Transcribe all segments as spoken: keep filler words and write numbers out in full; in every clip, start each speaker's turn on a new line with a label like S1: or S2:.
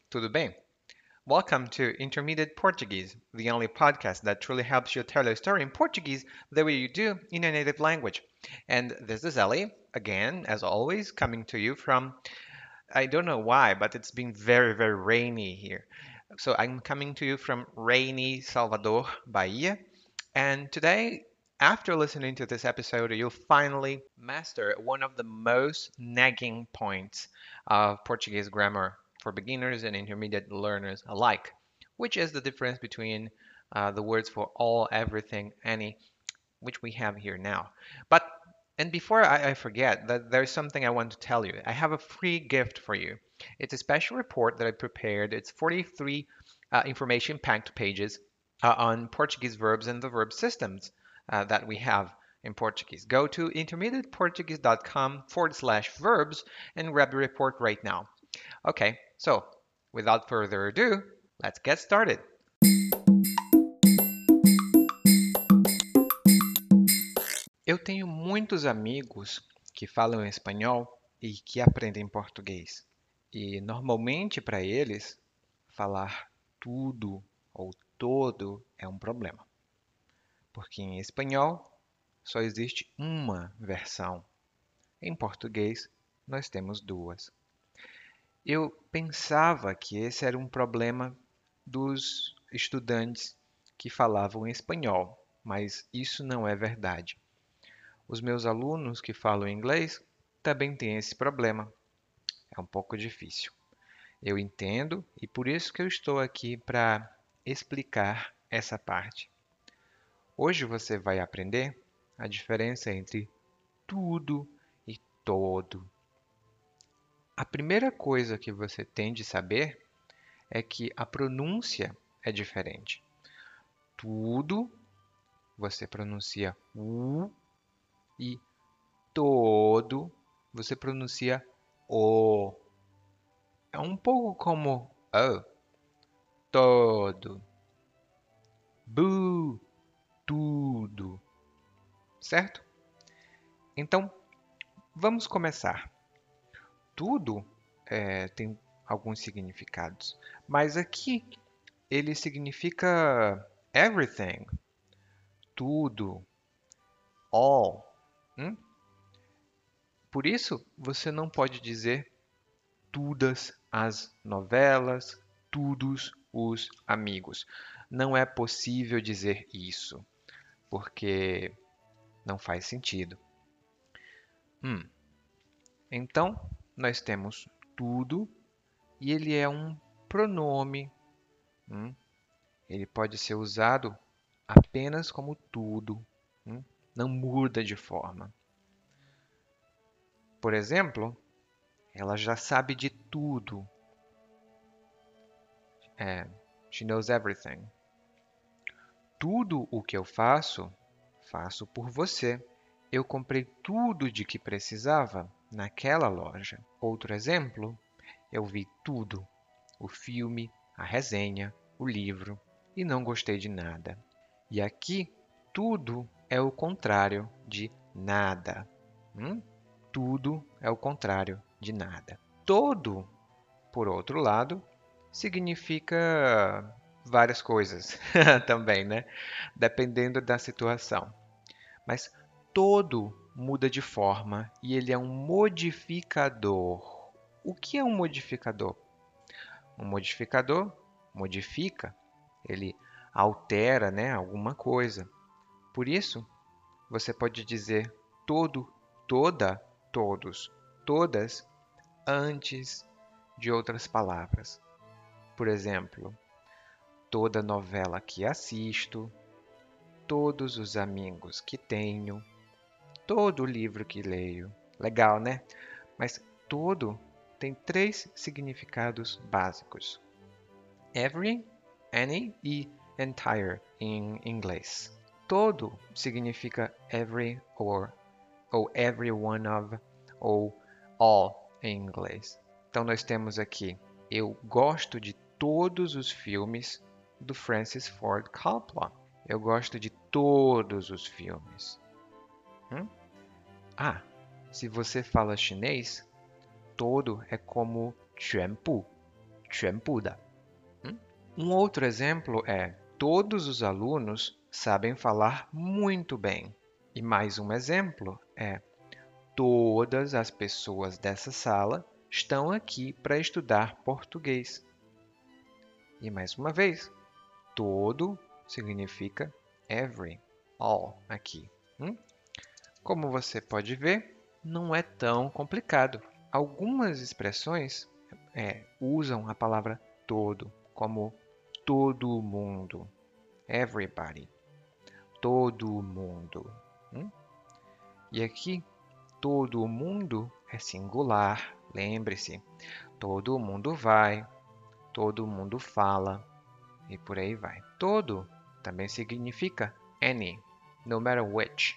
S1: Tudo bem? Welcome to Intermediate Portuguese, the only podcast that truly helps you tell a story in Portuguese the way you do in your native language. And this is Ellie, again, as always, coming to you from, I don't know why, but it's been very, very rainy here. So I'm coming to you from rainy Salvador, Bahia. And today, after listening to this episode, you'll finally master one of the most nagging points of Portuguese grammar for beginners and intermediate learners alike, which is the difference between uh, the words for all, everything, any, which we have here now. But and before I, I forget, that there's something I want to tell you. I have a free gift for you. It's a special report that I prepared. It's forty-three uh, information-packed pages uh, on Portuguese verbs and the verb systems uh, that we have in Portuguese. Go to intermediateportuguese.com forward slash verbs and grab the report right now. Okay, so without further ado, let's get started. Eu tenho muitos amigos que falam espanhol e que aprendem português. E normalmente para eles, falar tudo ou todo é um problema, porque em espanhol só existe uma versão. Em português, nós temos duas. Eu pensava que esse era um problema dos estudantes que falavam espanhol, mas isso não é verdade. Os meus alunos que falam inglês também têm esse problema. É um pouco difícil. Eu entendo e por isso que eu estou aqui para explicar essa parte. Hoje você vai aprender a diferença entre tudo e todo. A primeira coisa que você tem de saber é que a pronúncia é diferente. Tudo você pronuncia u e todo você pronuncia o. É um pouco como oh, todo, bu, tudo, certo? Então, vamos começar. Tudo é, tem alguns significados, mas aqui ele significa everything, tudo, all. Hum? Por isso, você não pode dizer todas as novelas, todos os amigos. Não é possível dizer isso, porque não faz sentido. Hum, então, nós temos tudo e ele é um pronome. Hum, ele pode ser usado apenas como tudo. Hum, não muda de forma. Por exemplo, ela já sabe de tudo. É, she knows everything. Tudo o que eu faço, faço por você. Eu comprei tudo de que precisava naquela loja. Outro exemplo, eu vi tudo: o filme, a resenha, o livro, e não gostei de nada. E aqui, tudo é o contrário de nada. Hum? Tudo é o contrário de nada. Todo, por outro lado, significa várias coisas também, né? Dependendo da situação. Mas todo muda de forma e ele é um modificador. O que é um modificador? Um modificador modifica, ele altera, né, alguma coisa. Por isso, você pode dizer todo, toda, todos, todas antes de outras palavras. Por exemplo, toda novela que assisto, todos os amigos que tenho, todo livro que leio. Legal, né? Mas todo tem três significados básicos: every, any e entire em inglês. Todo significa every or, ou every one of, ou all em inglês. Então nós temos aqui: eu gosto de todos os filmes do Francis Ford Coppola. Eu gosto de todos os filmes. Hum? Ah, se você fala chinês, todo é como 全部, 全部的. Hum? Um outro exemplo é: todos os alunos sabem falar muito bem. E mais um exemplo é: todas as pessoas dessa sala estão aqui para estudar português. E mais uma vez, todo significa every, all aqui. Hum? Como você pode ver, não é tão complicado. Algumas expressões é, usam a palavra todo, como todo mundo, everybody, todo mundo. Hum? E aqui, todo mundo é singular, lembre-se. Todo mundo vai, todo mundo fala e por aí vai. Todo também significa any, no matter which.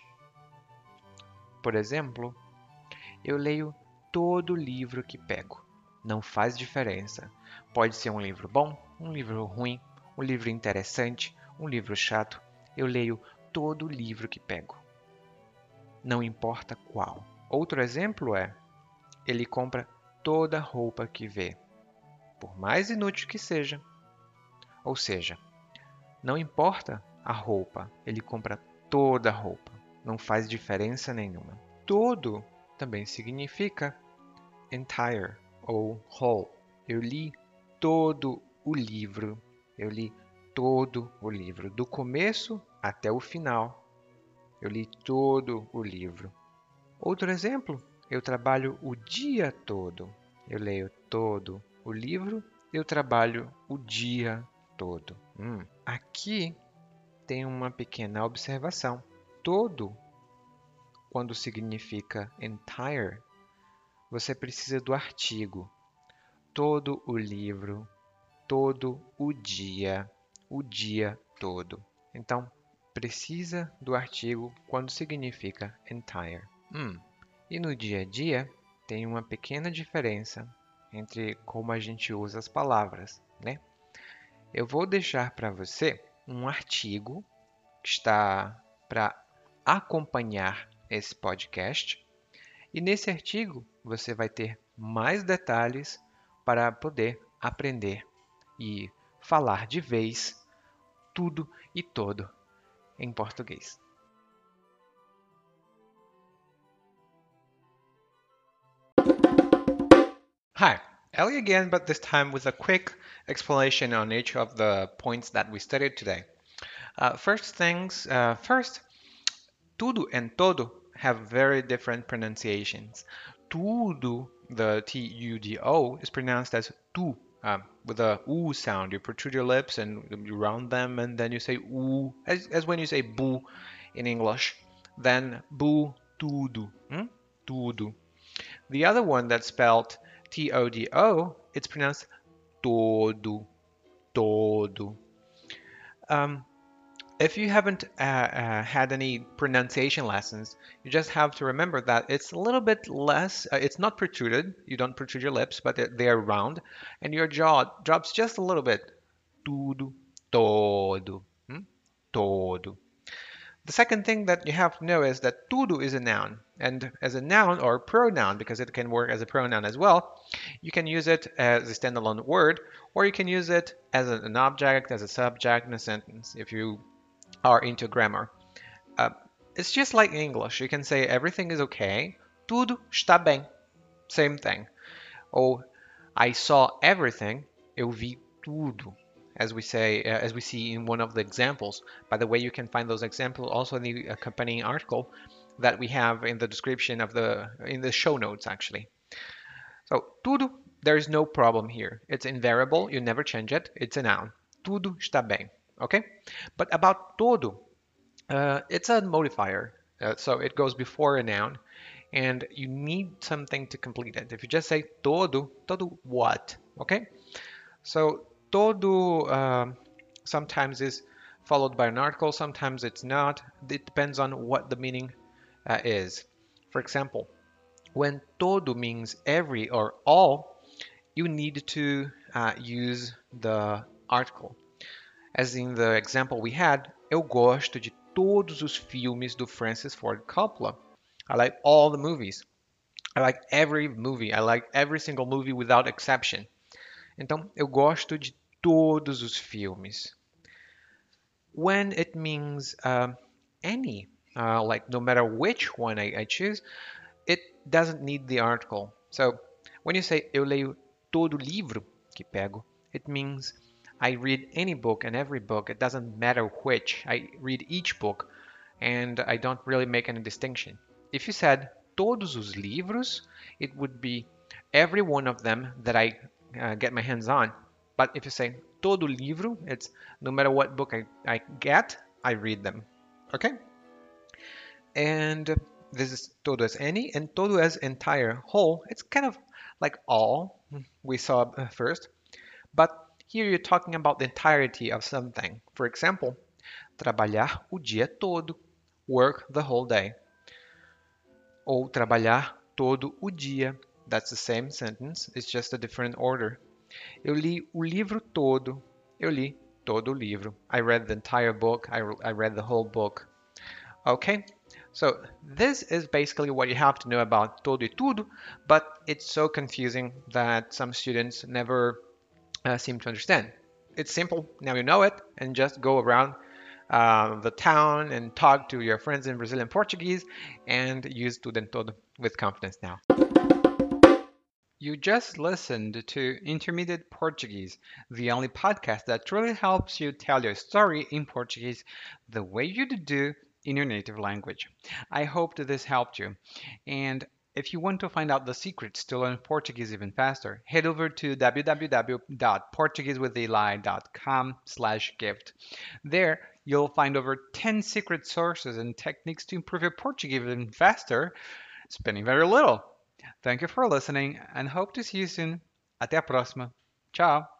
S1: Por exemplo, eu leio todo livro que pego. Não faz diferença. Pode ser um livro bom, um livro ruim, um livro interessante, um livro chato. Eu leio todo livro que pego. Não importa qual. Outro exemplo é: ele compra toda roupa que vê, por mais inútil que seja. Ou seja, não importa a roupa, ele compra toda a roupa. Não faz diferença nenhuma. Todo também significa entire ou whole. Eu li todo o livro. Eu li todo o livro, do começo até o final. Eu li todo o livro. Outro exemplo, eu trabalho o dia todo. Eu leio todo o livro. Eu trabalho o dia todo. Hum. Aqui tem uma pequena observação. Todo, quando significa entire, você precisa do artigo. Todo o livro, todo o dia, o dia todo. Então, precisa do artigo quando significa entire. Hum. E no dia a dia, tem uma pequena diferença entre como a gente usa as palavras, né? Eu vou deixar para você um artigo que está para acompanhar esse podcast. E nesse artigo você vai ter mais detalhes para poder aprender e falar de vez tudo e todo em português. Hi, Ellie again, but this time with a quick explanation on each of the points that we studied today. Uh, first things uh, first, tudo and todo have very different pronunciations. Tudo, the T U D O, is pronounced as tu, um, with a u sound. You protrude your lips and you round them, and then you say u, as, as when you say boo in English. Then boo, tudo, hmm? tudo. The other one that's spelled T O D O, it's pronounced todo, todo. Um, If you haven't uh, uh, had any pronunciation lessons, you just have to remember that it's a little bit less, uh, it's not protruded, you don't protrude your lips, but they are round, and your jaw drops just a little bit. Tudo, todo, hmm? todo. The second thing that you have to know is that tudo is a noun, and as a noun or pronoun, because it can work as a pronoun as well, you can use it as a standalone word, or you can use it as an object, as a subject in a sentence, if you are into grammar. Uh, it's just like English. You can say everything is okay. Tudo está bem. Same thing. Or I saw everything. Eu vi tudo. As we say, uh, as we see in one of the examples. By the way, you can find those examples also in the accompanying article that we have in the description of the in the show notes actually. So tudo, there is no problem here. It's invariable. You never change it. It's a noun. Tudo está bem. Okay. But about todo, uh, it's a modifier, uh, so it goes before a noun, and you need something to complete it. If you just say todo, todo what? Okay? So todo um, sometimes is followed by an article, sometimes it's not. It depends on what the meaning uh, is. For example, when todo means every or all, you need to uh, use the article. As in the example we had, eu gosto de todos os filmes do Francis Ford Coppola. I like all the movies. I like every movie. I like every single movie without exception. Então, eu gosto de todos os filmes. When it means uh, any, uh, like no matter which one I, I choose, it doesn't need the article. So when you say eu leio todo livro que pego, it means I read any book and every book. It doesn't matter which. I read each book and I don't really make any distinction. If you said todos os livros, it would be every one of them that I uh, get my hands on. But if you say todo livro, it's no matter what book I, I get, I read them. Okay? And this is todo as any, and todo as entire, whole. It's kind of like all we saw first, but here you're talking about the entirety of something. For example, trabalhar o dia todo, work the whole day. Ou trabalhar todo o dia. That's the same sentence, it's just a different order. Eu li o livro todo. Eu li todo o livro. I read the entire book. I, I read the whole book. Okay? So this is basically what you have to know about todo e tudo, but it's so confusing that some students never uh, seem to understand. It's simple. Now you know it, and just go around uh, the town and talk to your friends in Brazilian Portuguese and use tudo and todo with confidence now. You just listened to Intermediate Portuguese, the only podcast that truly helps you tell your story in Portuguese the way you do in your native language. I hope that this helped you. And if you want to find out the secrets to learn Portuguese even faster, head over to w w w dot portuguese with eli dot com slash gift. There, you'll find over ten secret sources and techniques to improve your Portuguese even faster, spending very little. Thank you for listening and hope to see you soon. Até a próxima. Tchau.